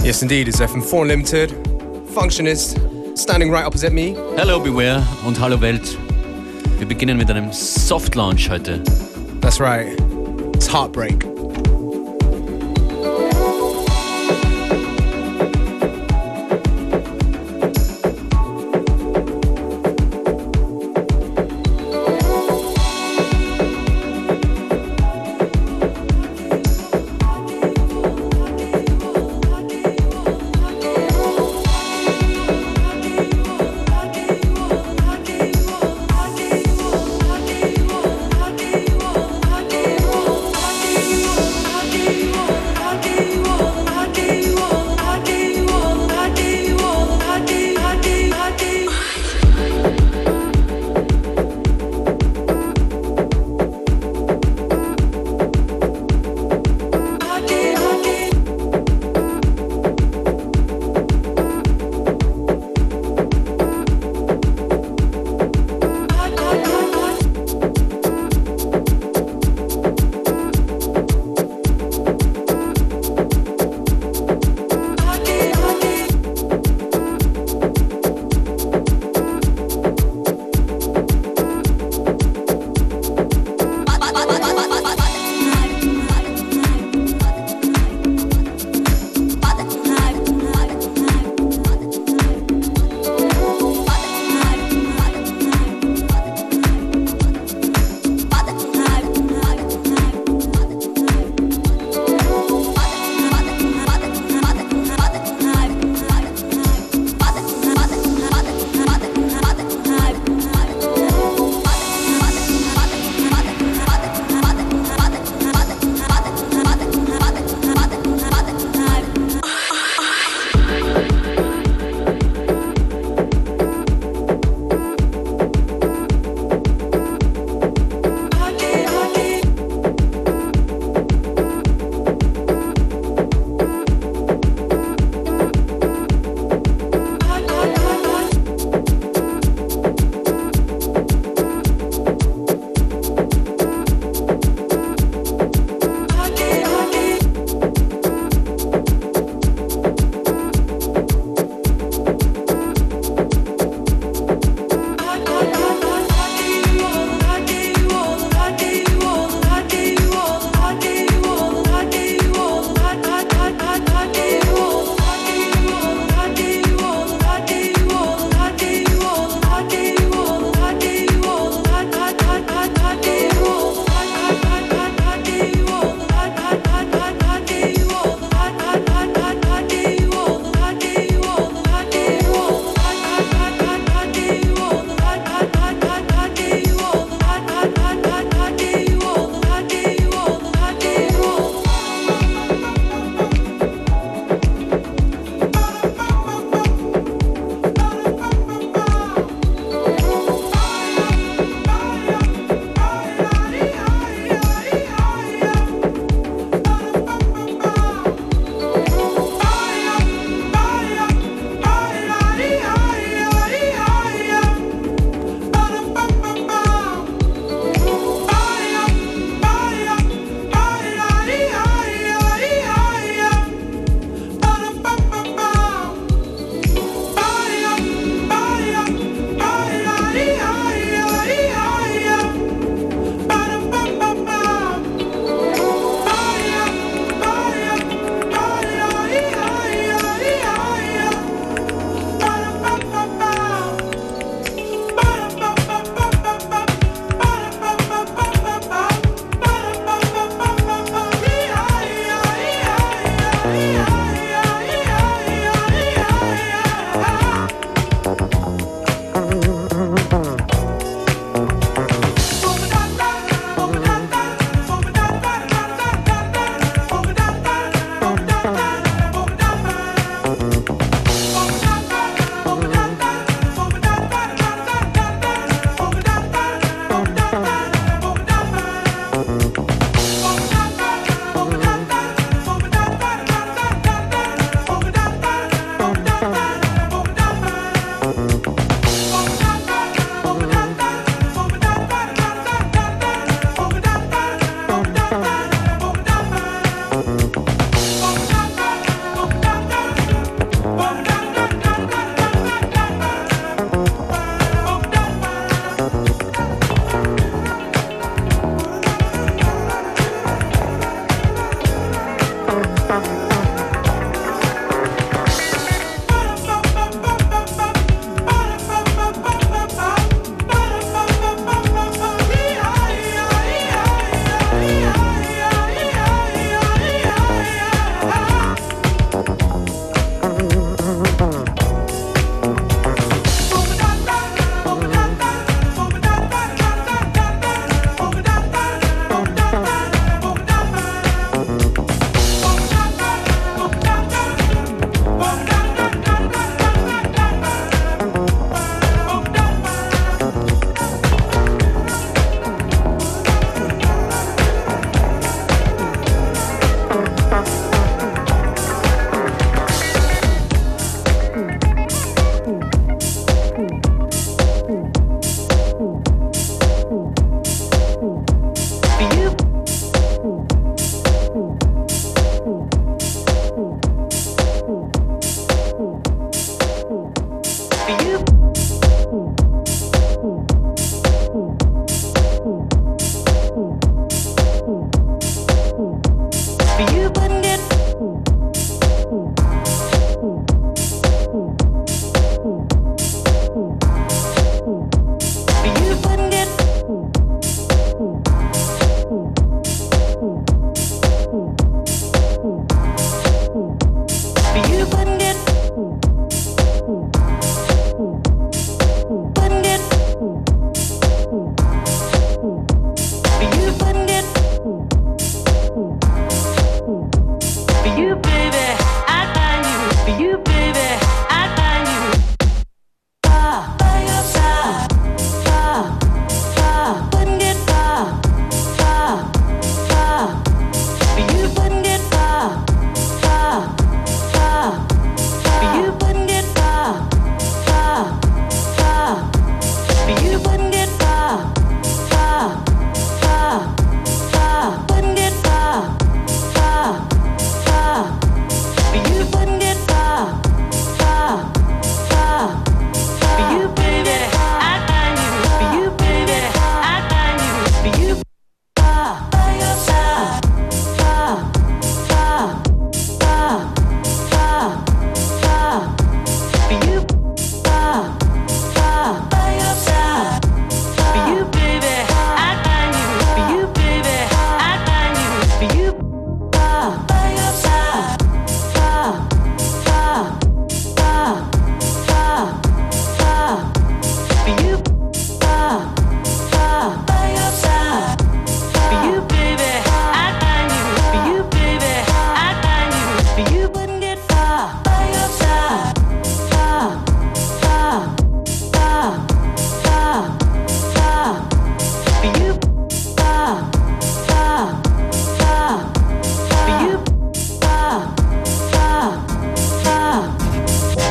Yes, indeed, it's FM4 Unlimited. Functionist, standing right opposite me. Hello Beware und hallo Welt. Wir beginnen mit einem Soft Launch heute. That's right. It's Heartbreak. You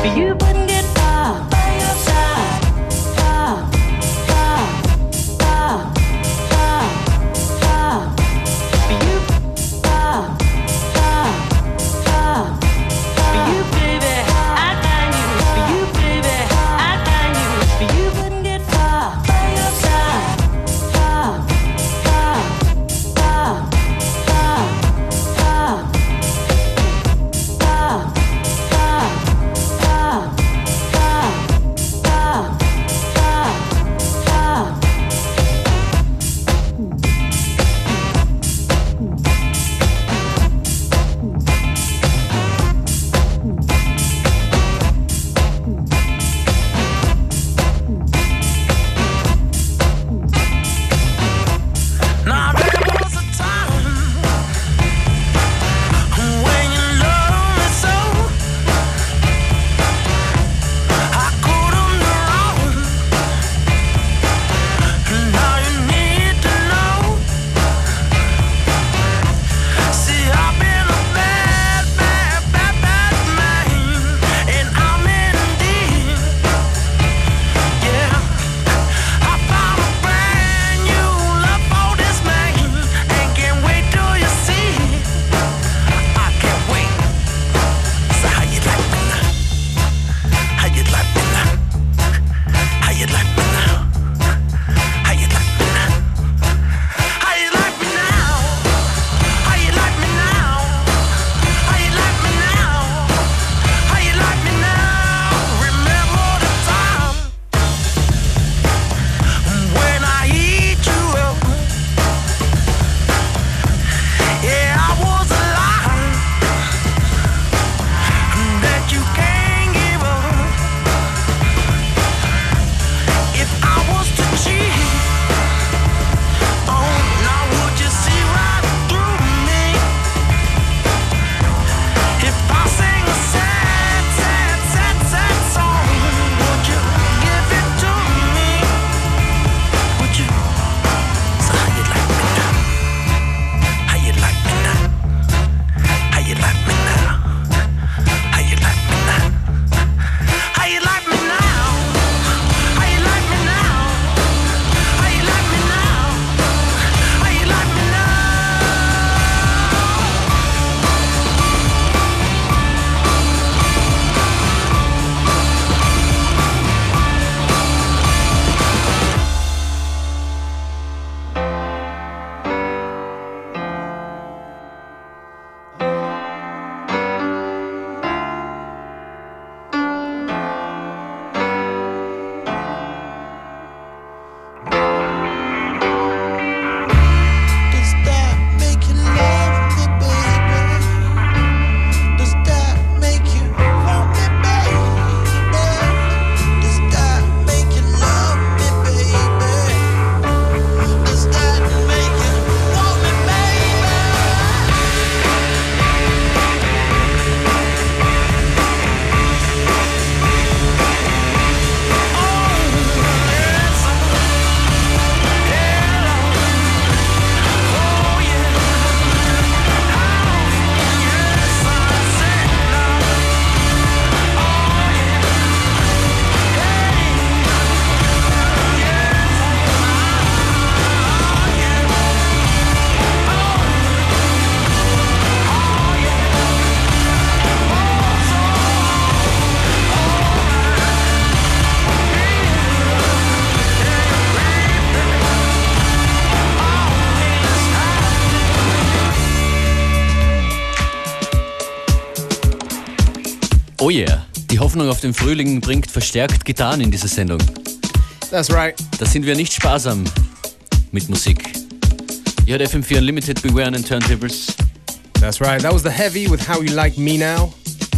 Oh yeah, die Hoffnung auf den Frühling bringt verstärkt Gitarren in diese Sendung. That's right. Da sind wir nicht sparsam mit Musik. Ihr hört FM4 Unlimited, Beware and Turntables. That's right, that was The Heavy with How You Like Me Now.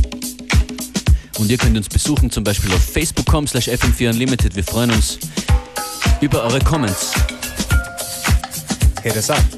Und ihr könnt uns besuchen, zum Beispiel auf facebook.com/FM4 Unlimited. Wir freuen uns über eure Comments. Hit us up.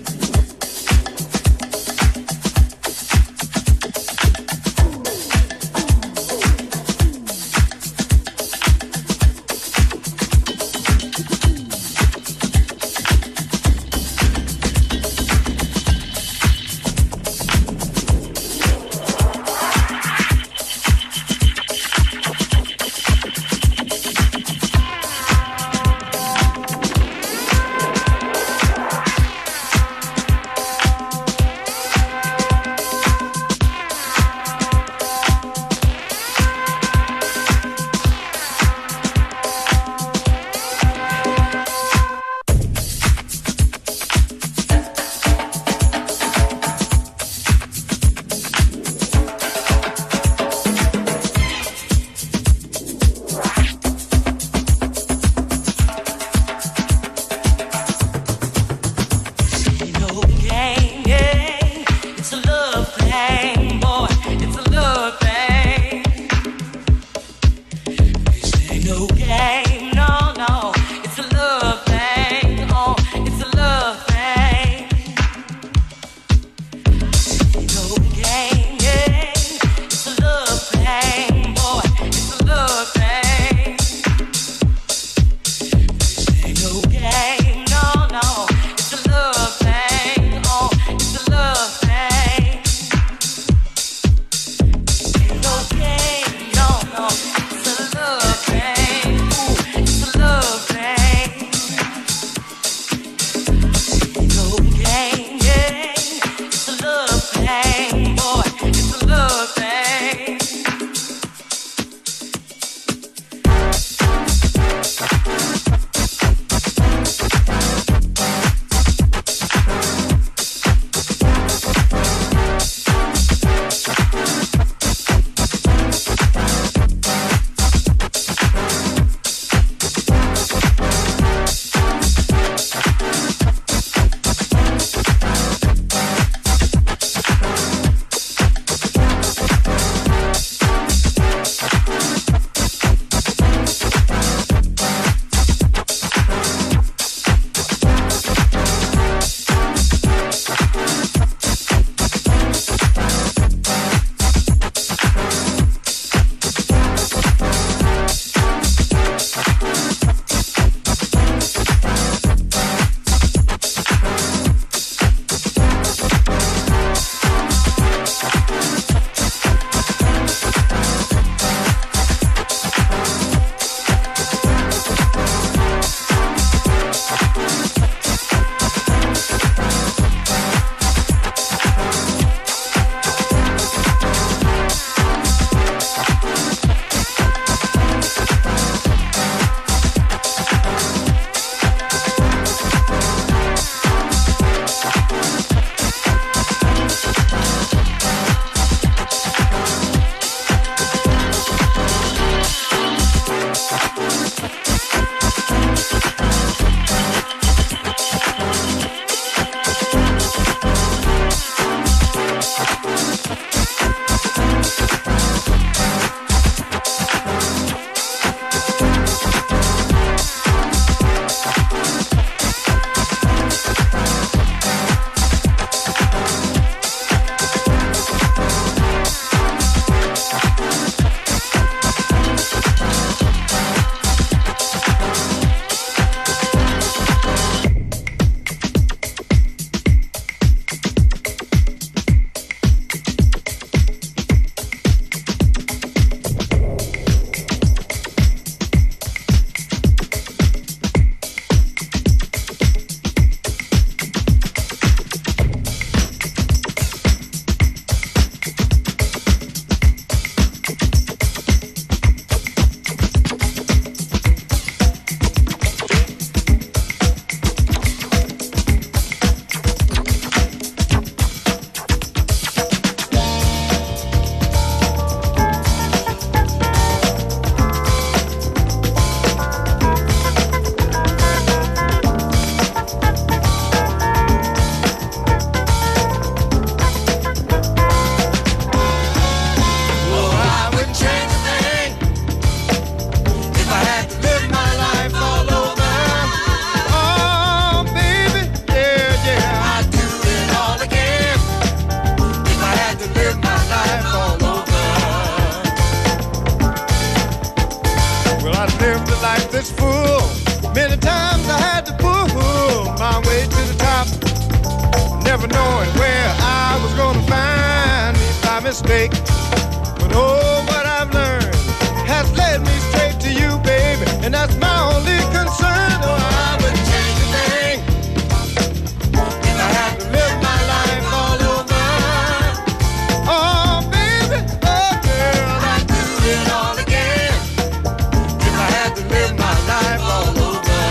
lived a life that's full. Many times I had to pull my way to the top, never knowing where I was gonna find me by mistake. But oh, what I've learned has led me straight to you, baby, and that's my only concern. Oh, I wouldn't change a thing if I had to live my life all over. Oh, baby, oh, girl, I'd do it all again if I had to live my life all over.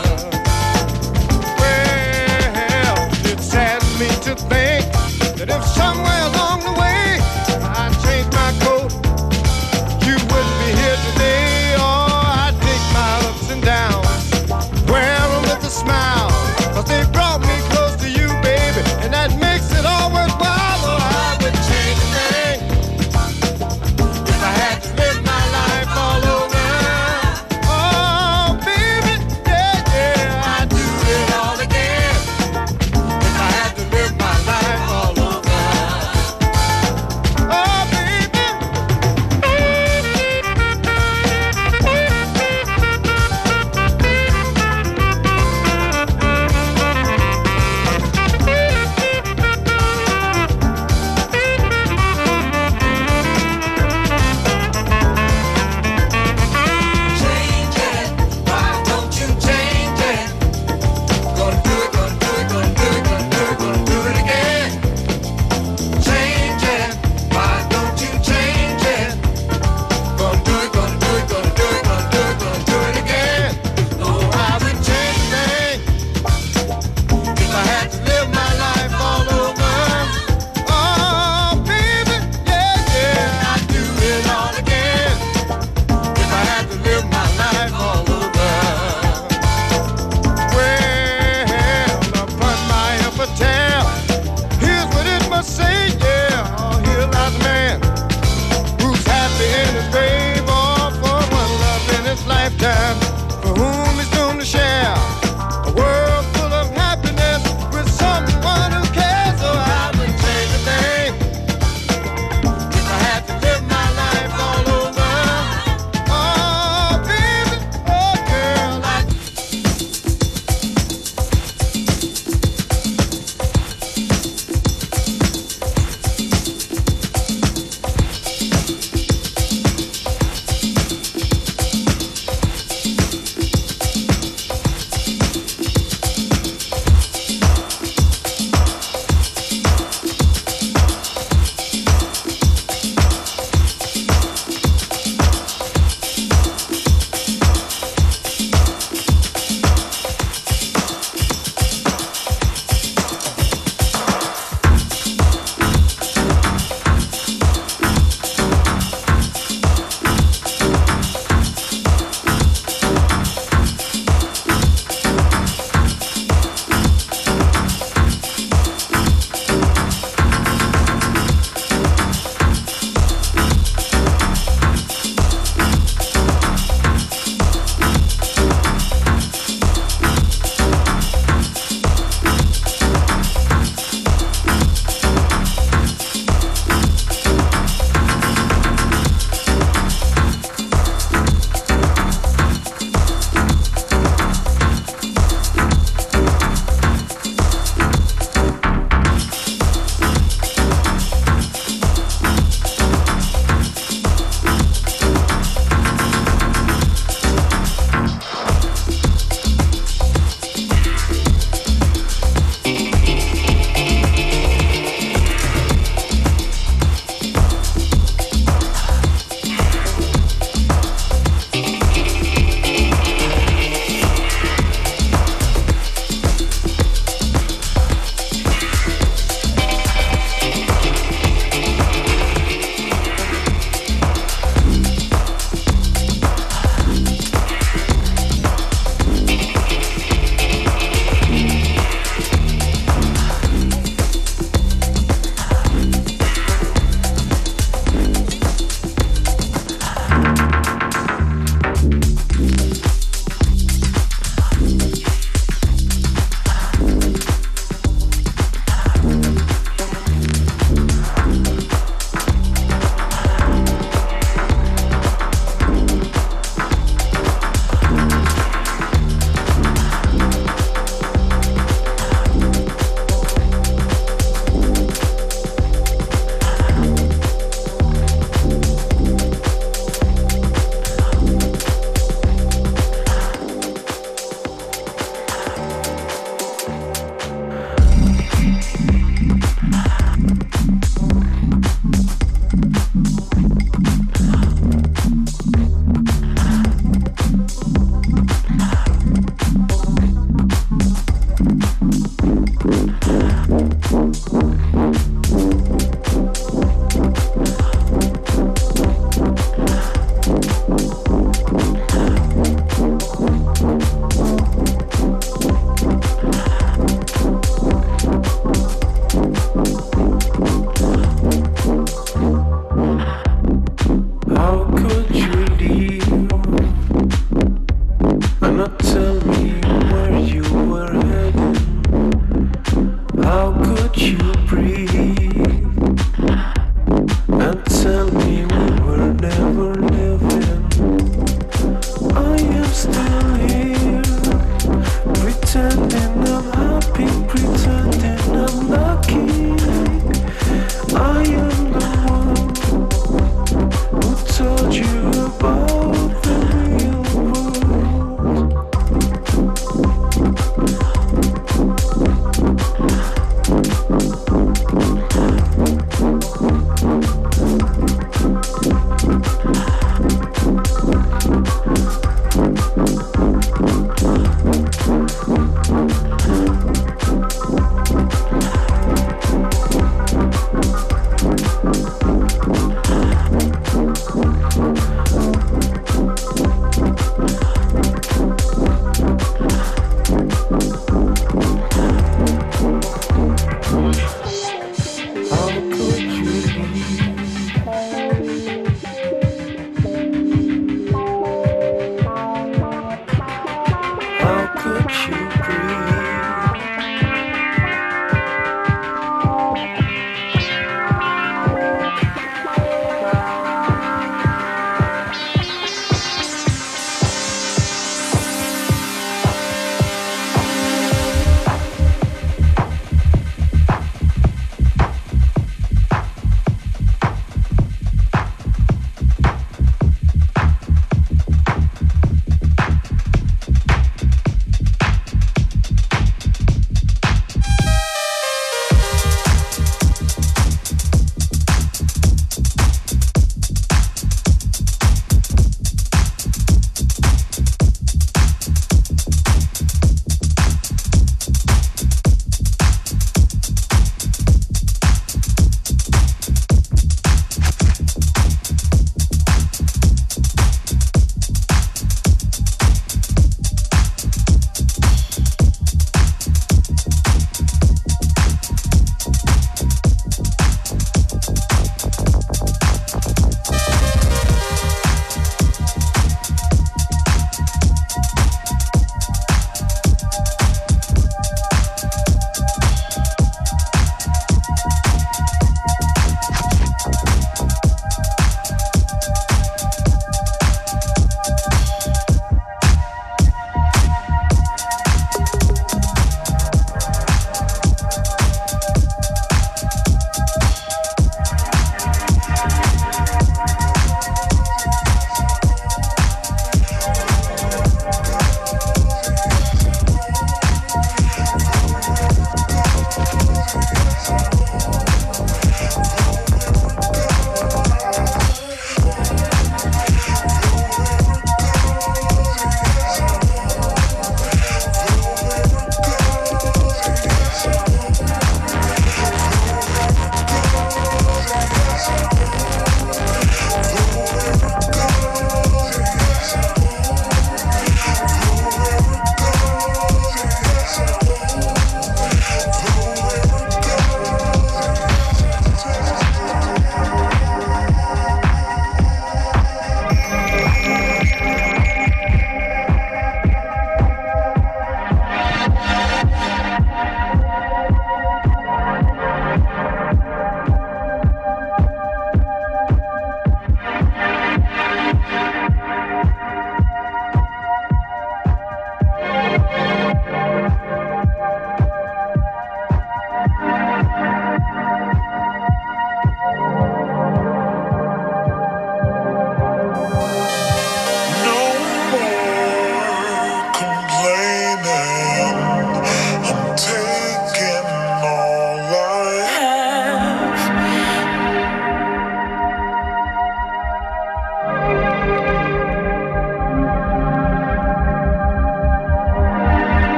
Well, it saddens me to think that if somewhere along the way I changed my coat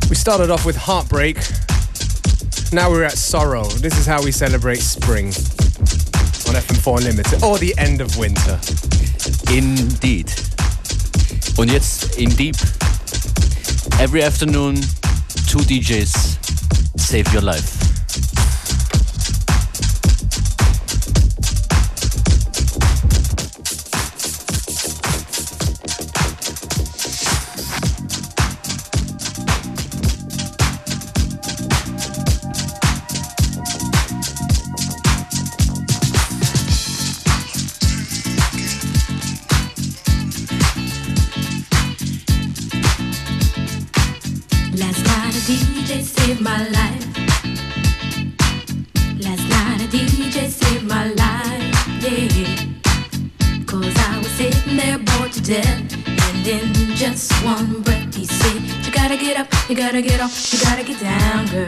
We started off with Heartbreak. Now we're at Sorrow. This is how we celebrate spring on FM4 Unlimited. Or the end of winter. Indeed. Und jetzt in Deep. Every afternoon, 2 DJs save your life. You gotta get off, you gotta get down, girl.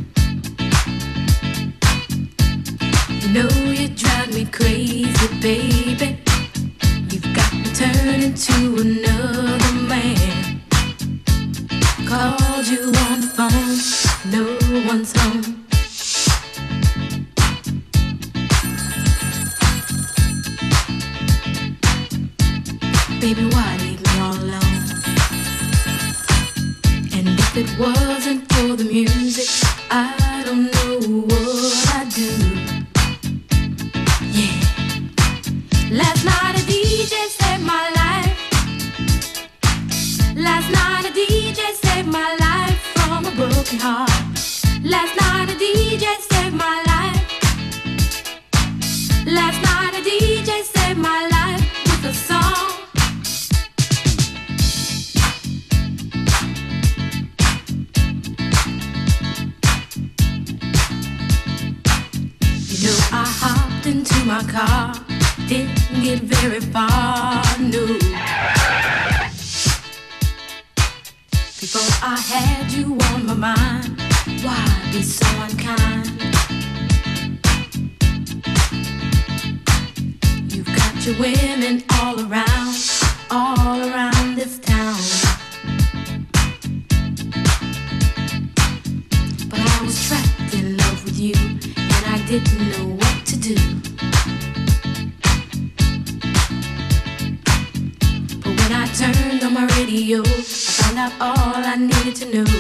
You know you drive me crazy, baby. You've got me turning to another man. Called you on the phone, no one's home. Baby, why leave me all alone? If it wasn't for the music, I don't know what I'd do. Yeah. Last night a DJ saved my life. Last night a DJ saved my life from a broken heart. Last night a DJ saved my life. Last night a DJ saved my life with a song. I hopped into my car, didn't get very far, no. Before I had you on my mind, why be so unkind? You've got your women all around this town. But I was trapped in love with you, and I didn't know what to do. But when I turned on my radio, I found out all I needed to know.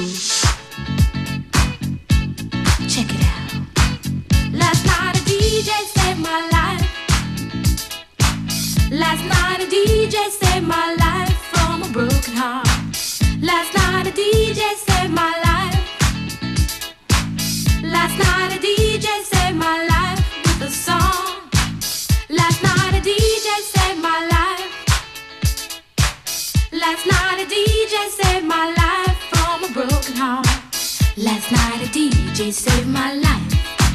Check it out. Last night a DJ saved my life. Last night a DJ saved my life from a broken heart. Last night a DJ saved my life. Last night a DJ saved my life with a song. Last night a DJ saved my life. Last night a DJ saved my life from a broken heart. Last night a DJ saved my life.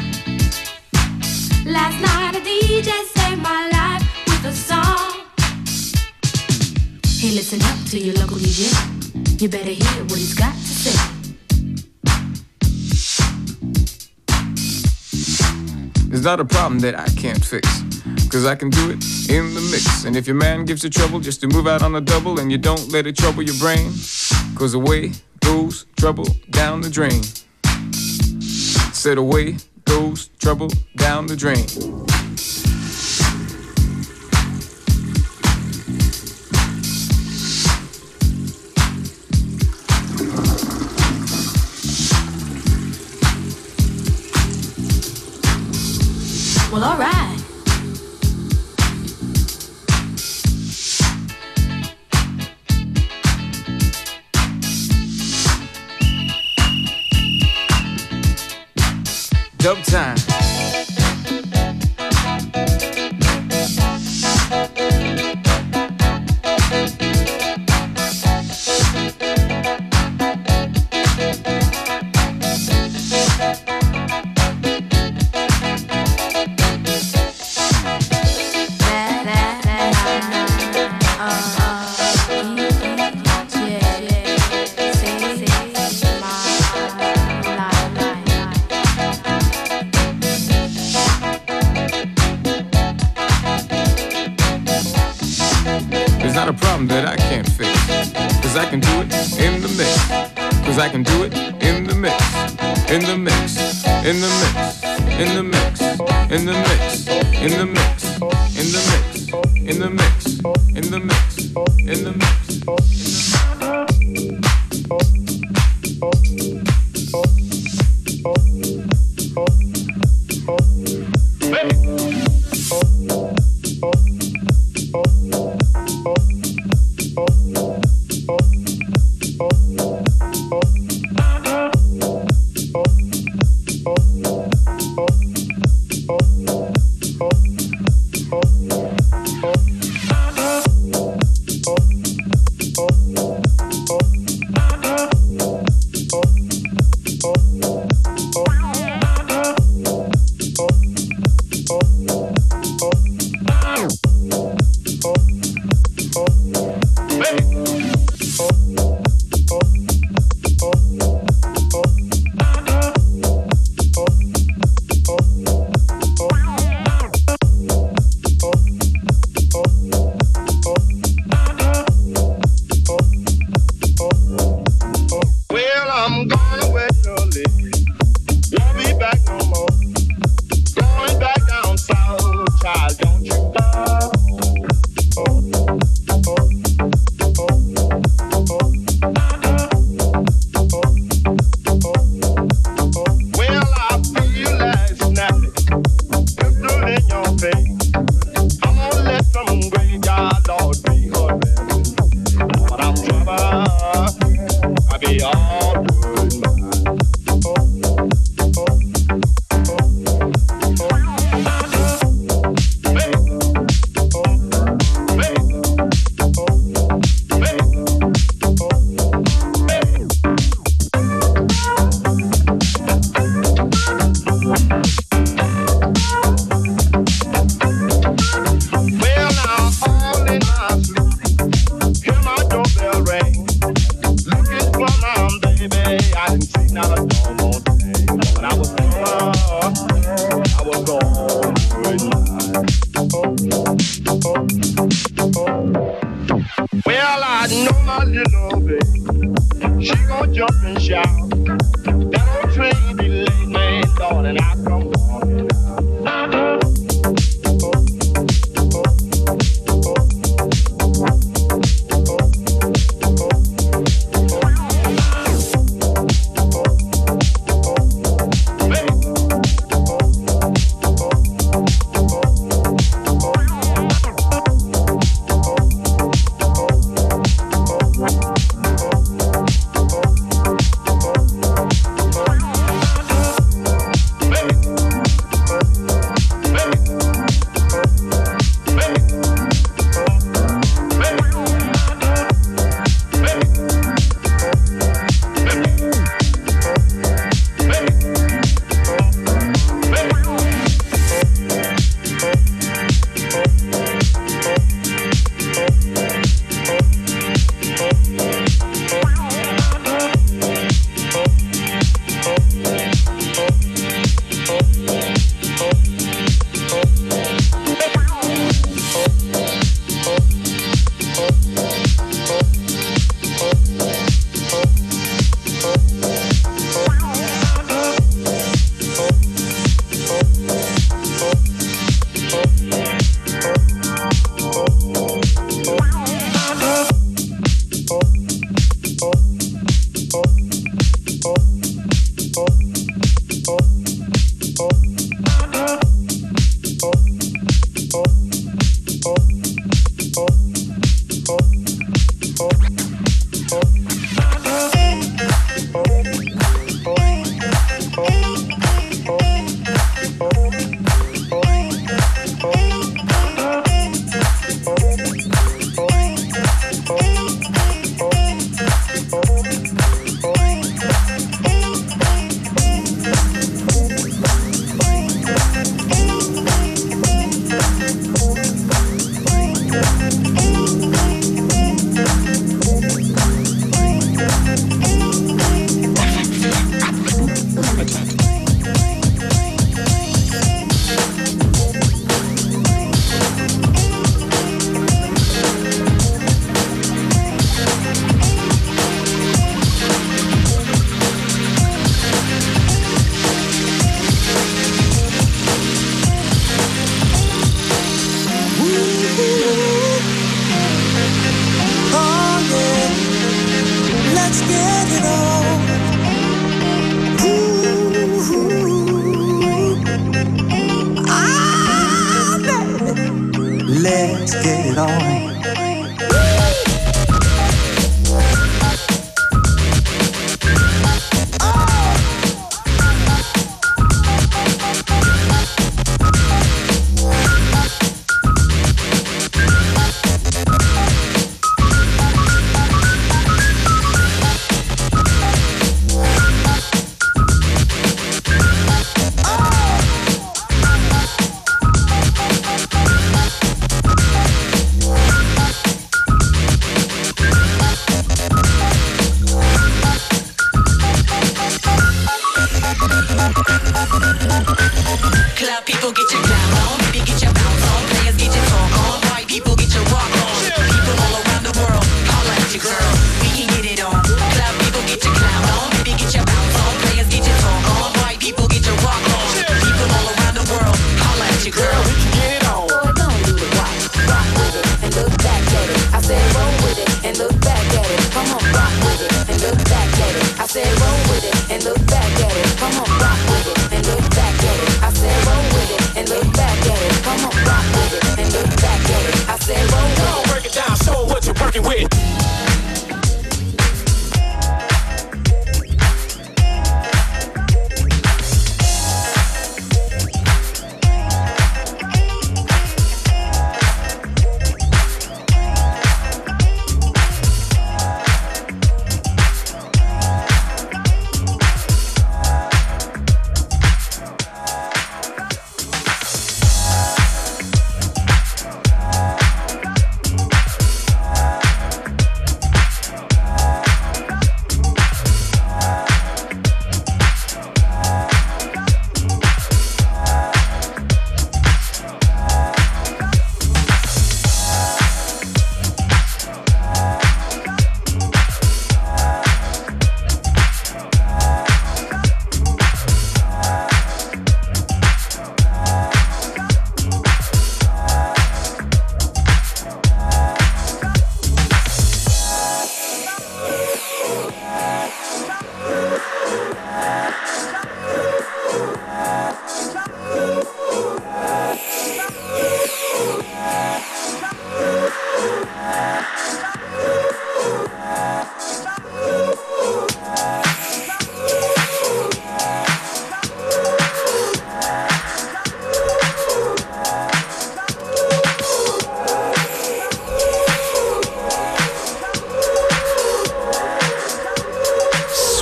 Last night a DJ saved my life with a song. Hey, listen up to your local DJ. You better hear what he's got to say. It's not a problem that I can't fix, 'cause I can do it in the mix. And if your man gives you trouble just to move out on a double, and you don't let it trouble your brain, 'cause away goes trouble down the drain. Said away goes trouble down the drain. Well, all right. Dub time. That I can't fix, 'cause I can do it in the mix. 'Cause Cause I can do it in the mix, in the mix, in the mix, in the mix, in the mix, in the mix, in the mix, in the mix, in the mix, in the mix.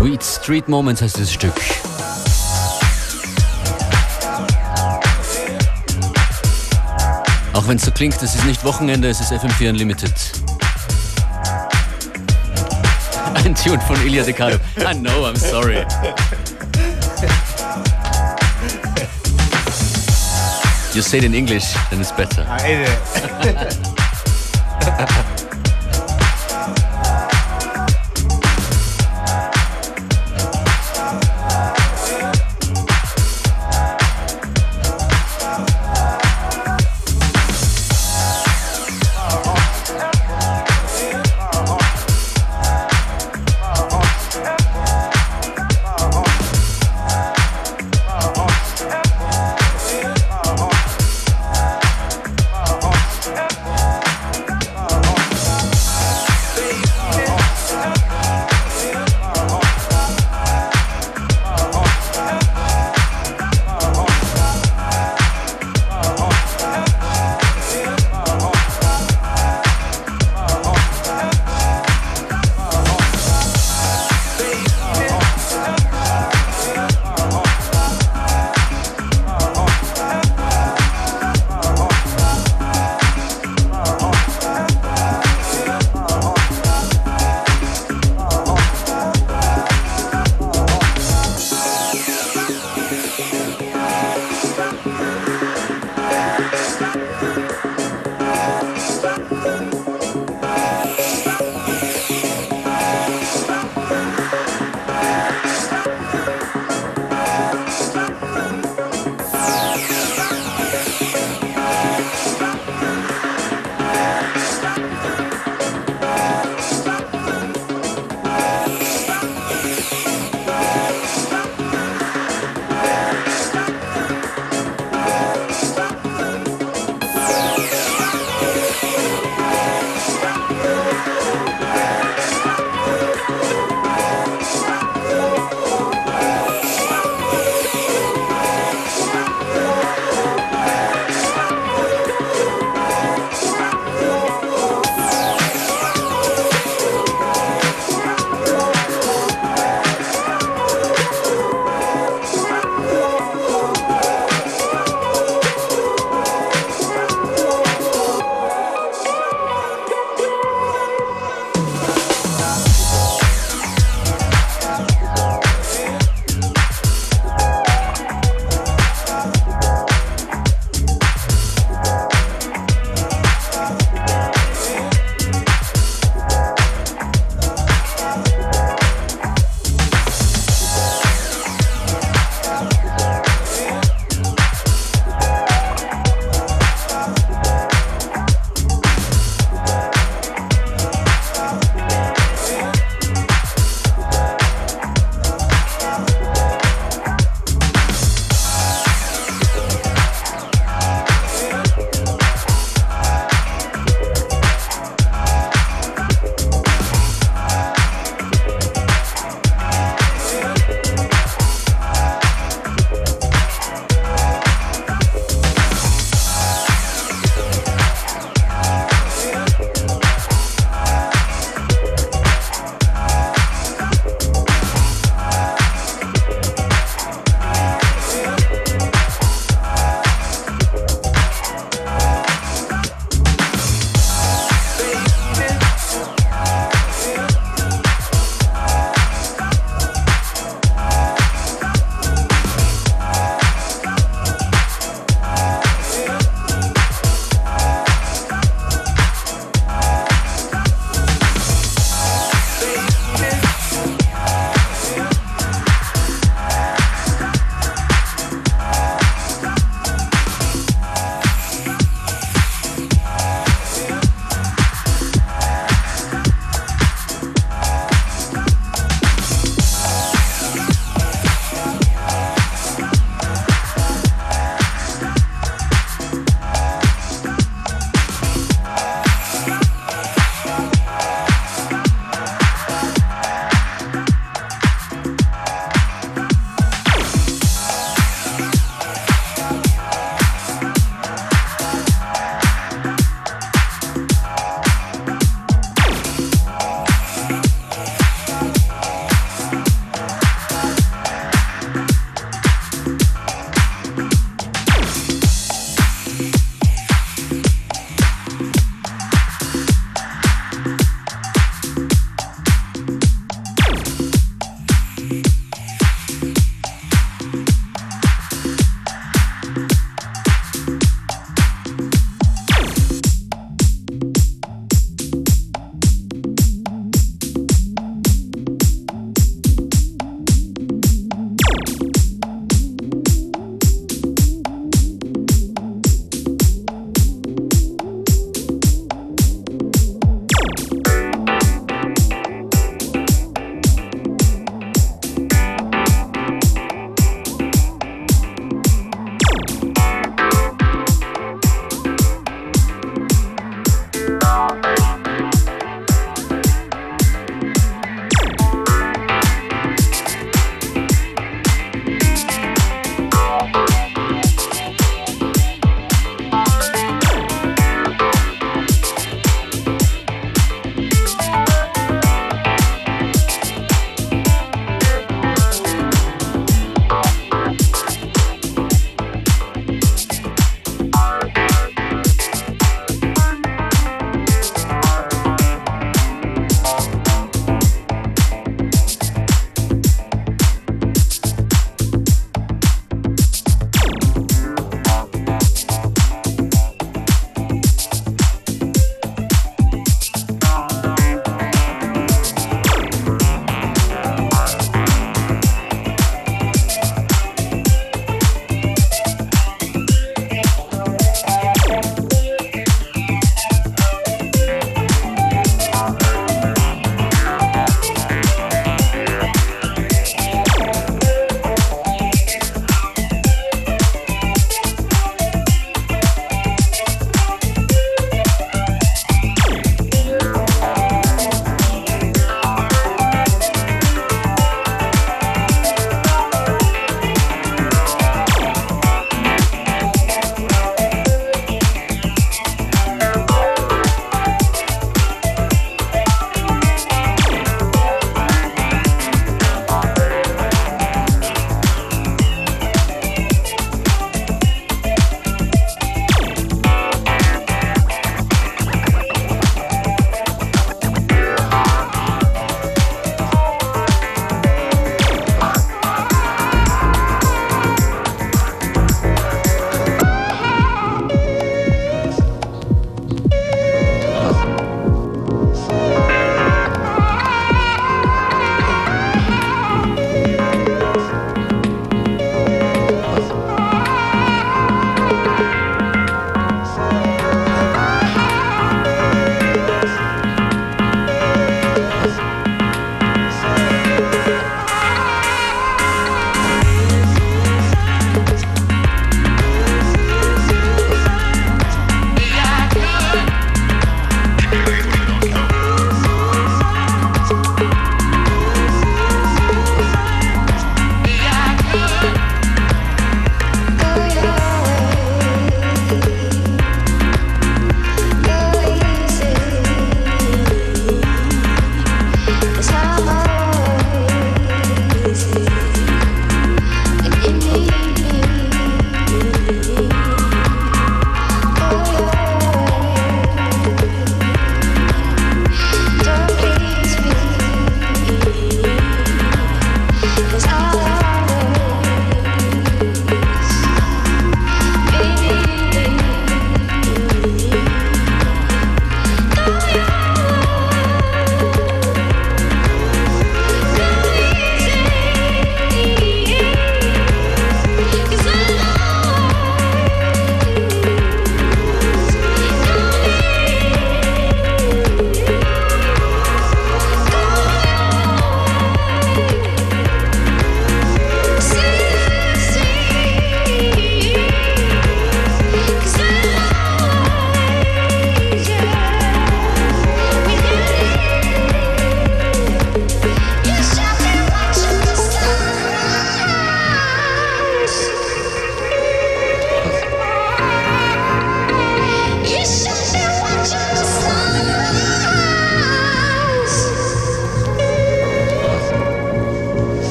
Sweet Street Moments heißt dieses Stück. Auch wenn es so klingt, es ist nicht Wochenende, es ist FM4 Unlimited. Ein Tune von Ilya De Caio. I know, I'm sorry. You say it in English, then it's better. I hate it.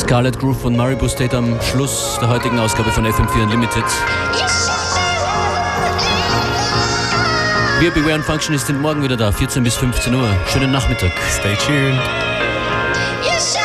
Scarlet Groove von Maribou State am Schluss der heutigen Ausgabe von FM4 Unlimited. Wir, Beware und Functionist, sind morgen wieder da, 14 bis 15 Uhr. Schönen Nachmittag. Stay tuned. Yes.